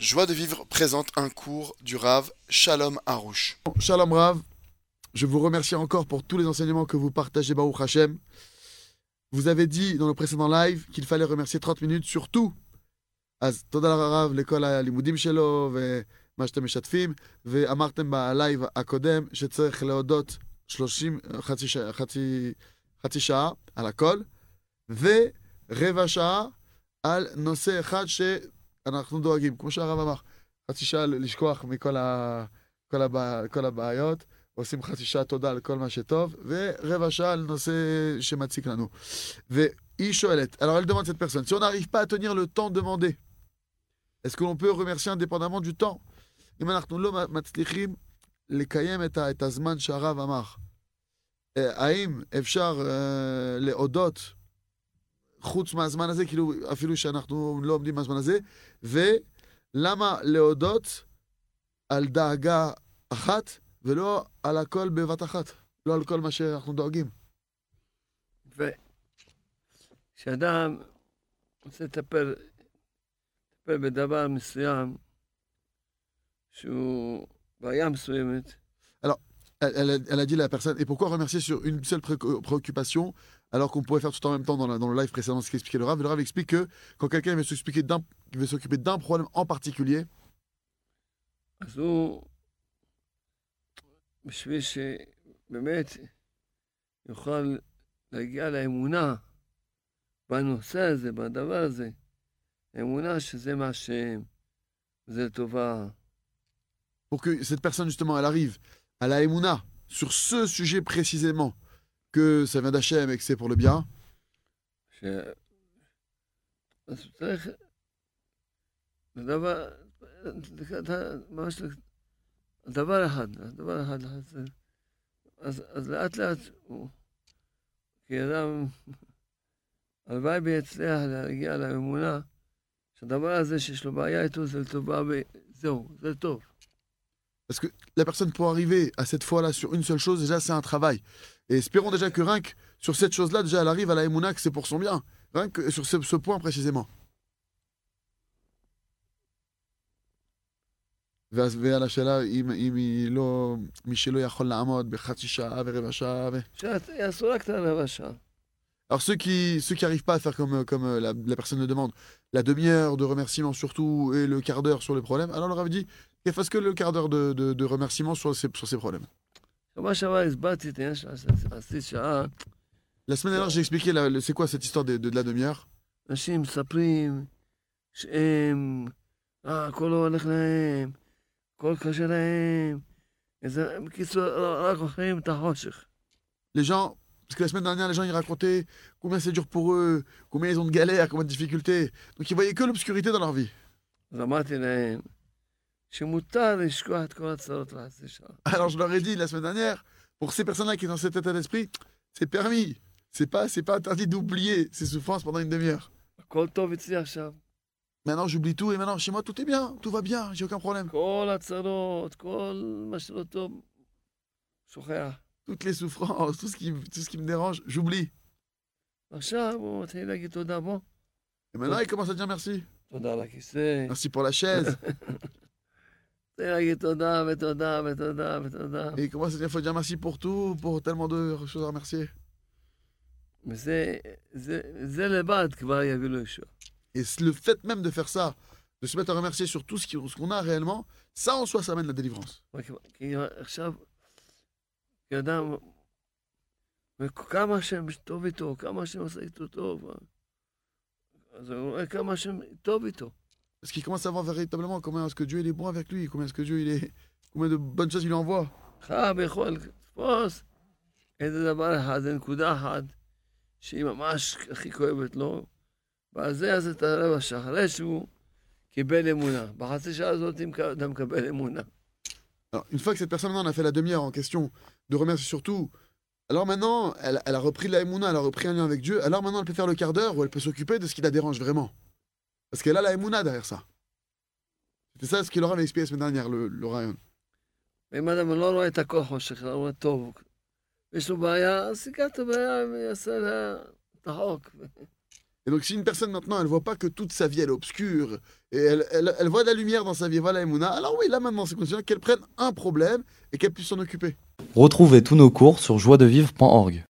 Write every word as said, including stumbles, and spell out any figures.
Joie de vivre présente un cours du Rav Shalom Harouche. Shalom Rav, je vous remercie encore pour tous les enseignements que vous partagez, Baruch Hashem. Vous avez dit dans le précédent live qu'il fallait remercier trente minutes sur tout. אז תודה לרב לכל הלימודים שלו ומה שאתם משתפים, ואמרתם בלייב הקודם שצריך להודות שלושים, חצי, שעה, חצי, חצי שעה על הכל, ורבע שעה על נושא אחד שאנחנו דואגים, כמו שהרב אמר, חצי שעה לשכוח מכל ה, כל הבע, כל הבעיות, עושים חצי שעה תודה על כל מה שטוב, ורבע שעה על נושא שמציק לנו. והיא שואלת, alors elle demande cette personne, si on n'arrive pas à tenir le temps demandé, est-ce que l'on peut remercier indépendamment du temps? אם אנחנו לא מצליחים לקיים את הזמן שהרב אמר, האם אפשר להודות חוץ מהזמן הזה, כאילו אפילו שאנחנו לא עומדים מהזמן הזה, ולמה להודות על דאגה אחת ולא על הכל בבת אחת, לא על כל מה שאנחנו דואגים? כשאדם רוצה לטפל לטפל בדבר מסוים שהוא בעיה מסוימת. Alors, elle, elle, elle a dit à la personne, et pourquoi remercier sur une seule pré préoccupation alors qu'on pouvait faire tout en même temps dans, la, dans le live précédent ce qu'expliquait le Rav? Le Rav explique que quand quelqu'un veut s'occuper d'un veut s'occuper d'un problème en particulier, אז הוא, בשביל שבאמת יוכל להגיע לאמונה בנושא הזה, בדבר הזה, אמונה שזה מה שהם, זה לטובה. Pour que cette personne justement elle arrive à la Emouna sur ce sujet précisément, que ça vient d'Hachem et que c'est pour le bien. ש... אז צריך לדבר, ממש דבר אחד, דבר אחד, אז, אז לאט לאט הוא, כי אדם, הלוואי ויצליח להגיע לאמונה, שהדבר הזה שיש לו בעיה איתו זה לטובה וזהו, זה טוב. Parce que la personne pour arriver à cette foi-là sur une seule chose, déjà c'est un travail. Et espérons déjà que rien que sur cette chose-là, déjà elle arrive à la Emouna que c'est pour son bien. Rien que sur ce, ce point précisément. ועל השאלה אם, אם היא לא, מי שלא יכול לעמוד בחצי שעה ורבע שעה ו... שיעשו רק את הרבע שעה. Alors ceux qui ceux qui arrivent pas à faire comme comme la, la personne le demande, la demi-heure de remerciement surtout et le quart d'heure sur les problèmes, alors on leur avait dit qu'elle fasse que le quart d'heure de, de, de remerciement sur ces sur ces problèmes. שבוע שעבר הסברתי את העניין של חצי שעה. La semaine dernière j'ai expliqué la, le, c'est quoi cette histoire de, de, de la demi-heure. אנשים מספרים שהם, אה, הכל לא הולך להם, הכל קשה להם, איזה, בקיצור, רק אוכלים את החושך. Les gens, parce que la semaine dernière, les gens ils racontaient combien c'est dur pour eux, combien ils ont de galères, combien de difficultés. Donc ils voyaient que l'obscurité dans leur vie. אז אמרתי להם שמותר לשכוח את כל הצרות לחצי שעה. Alors je leur ai dit la semaine dernière, pour ces personnes-là qui sont dans cet état d'esprit, c'est permis. C'est pas, c'est pas interdit d'oublier ces souffrances pendant une demi-heure. הכל טוב אצלי עכשיו. Maintenant j'oublie tout et maintenant chez moi tout est bien, tout va bien, j'ai aucun problème. כל הצרות, כל מה שלא טוב, שוכח. Toutes les souffrances, tout ce qui, tout ce qui me dérange, j'oublie. עכשיו הוא מתחיל להגיד תודה בו. Et maintenant il commence à dire merci. תודה על הכיסא. Merci pour la chaise. מתחיל להגיד תודה ותודה ותודה ותודה. Et il commence à dire faut dire merci pour tout, pour tellement de choses à remercier. וזה זה, זה לבד כבר יביא לו ישועה. Et le fait même de faire ça, de se mettre à remercier sur tout ce qu'on ce qu'on a réellement, ça en soi ça amène la délivrance. כי עכשיו, כאדם, כמה השם טוב איתו, כמה השם עושה איתו טוב, אז הוא רואה כמה השם טוב איתו. Parce qu'il commence à voir véritablement combien est-ce que Dieu il est bon avec lui, combien est-ce que Dieu il est, combien de bonnes choses il lui envoie. חייב יכול לתפוס איזה דבר אחד, זה נקודה אחת, שהיא ממש הכי כואבת לו, ועל זה יעשה את הרבע שעה, אחרי שהוא קיבל אמונה. בחצי שעה הזאת אתה מקבל אמונה. Alors, une fois que cette personne maintenant on a fait la demi-heure en question, de remercier surtout, alors maintenant elle, elle a repris la Emouna, elle a repris un lien avec Dieu, alors maintenant elle peut faire le quart d'heure où elle peut s'occuper de ce qui la dérange vraiment. Parce qu'elle a la Emouna derrière ça. C'était ça ce qu'il leur avait expliqué la semaine dernière, le, le rayon. ואם אדם לא רואה את הכל חושך, הוא רואה טוב, יש לו בעיה, אז סיכה את הבעיה ויעשה לה את החוק. Et donc si une personne maintenant, elle voit pas que toute sa vie elle est obscure, et elle, elle, elle voit de la lumière dans sa vie, voilà Emouna, alors oui, là maintenant c'est conditionné qu'elle prenne un problème et qu'elle puisse s'en occuper. Retrouvez tous nos cours sur joie de vivre point org.